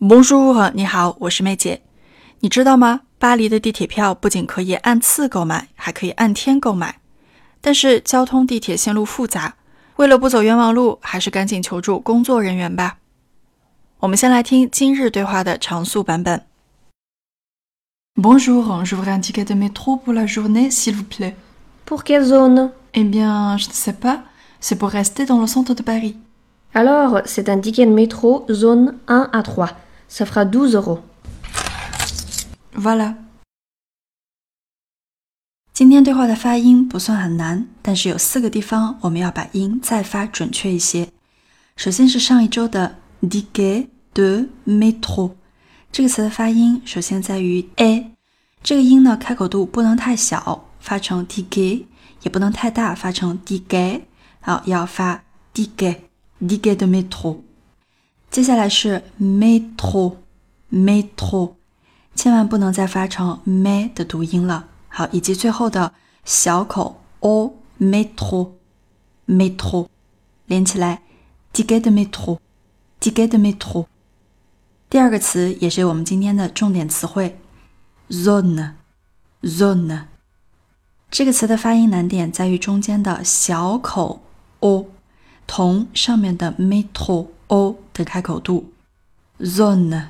Bonjour， 你好，我是妹姐。你知道吗？巴黎的地铁票不仅可以按次购买，还可以按天购买。但是交通地铁线路复杂，为了不走冤枉路，还是赶紧求助工作人员吧。我们先来听今日对话的常速版本。Bonjour, je voudrais un ticket de métro pour la journée, s'il vous plaît. Pour quelle zone? Eh bien, je ne sais pas. C'est pour rester dans le centre de Paris. Alors, c'est un ticket de métro zone 1 à 3. Ça fera 12 €. Voilà. 今天对话的发音不算很难，但是有4个地方我们要把音再发准确一些。首先是上一周的 ticket de métro， 这个词的发音首先在于 a， 这个音呢开口度不能太小，发成 ticket， 也不能太大，发成 ticket， 好，要发 ticket de métro。 接下来是 métro， 千万不能再发成 me 的读音了。好，以及最后的小口 o métro， 连起来 ticket de métro。 第二个词也是我们今天的重点词汇 zone， 这个词的发音难点在于中间的小口 o 同上面的 métro o 的开口度 zone，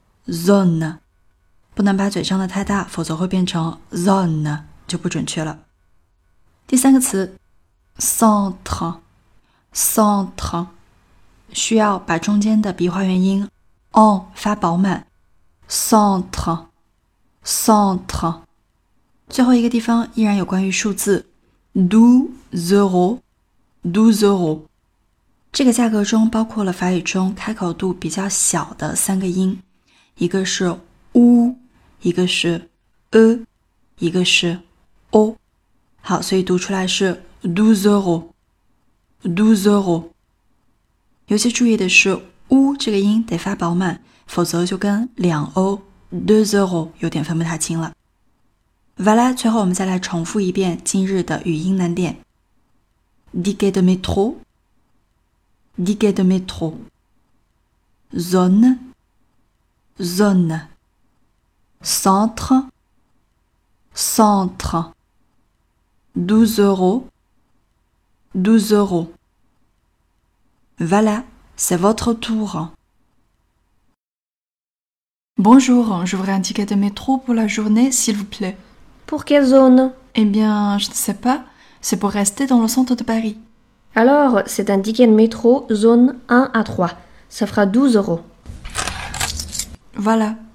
不能把嘴张得太大，否则会变成 zone， 就不准确了。第三个词 centre， 需要把中间的鼻化元音 on 发饱满 centre。 最后一个地方依然有关于数字 12 euros， 这个价格中包括了法语中开口度比较小的3个音，一个是 u， 一个是 一个是 o。 好，所以读出来是12 euros。 尤其注意的是 u 这个音得发饱满，否则就跟2欧2 euros 有点分不太清了。Voilà， 最后我们再来重复一遍今日的语音难点。 ticket de métro， zone， centre， 12 euros。 Voilà, c'est votre tour. Bonjour, je voudrais un ticket de métro pour la journée, s'il vous plaît. Pour quelle zone? Eh bien, je ne sais pas. C'est pour rester dans le centre de Paris. Alors, c'est un ticket de métro zone 1 à 3. Ça fera 12 €. Voilà.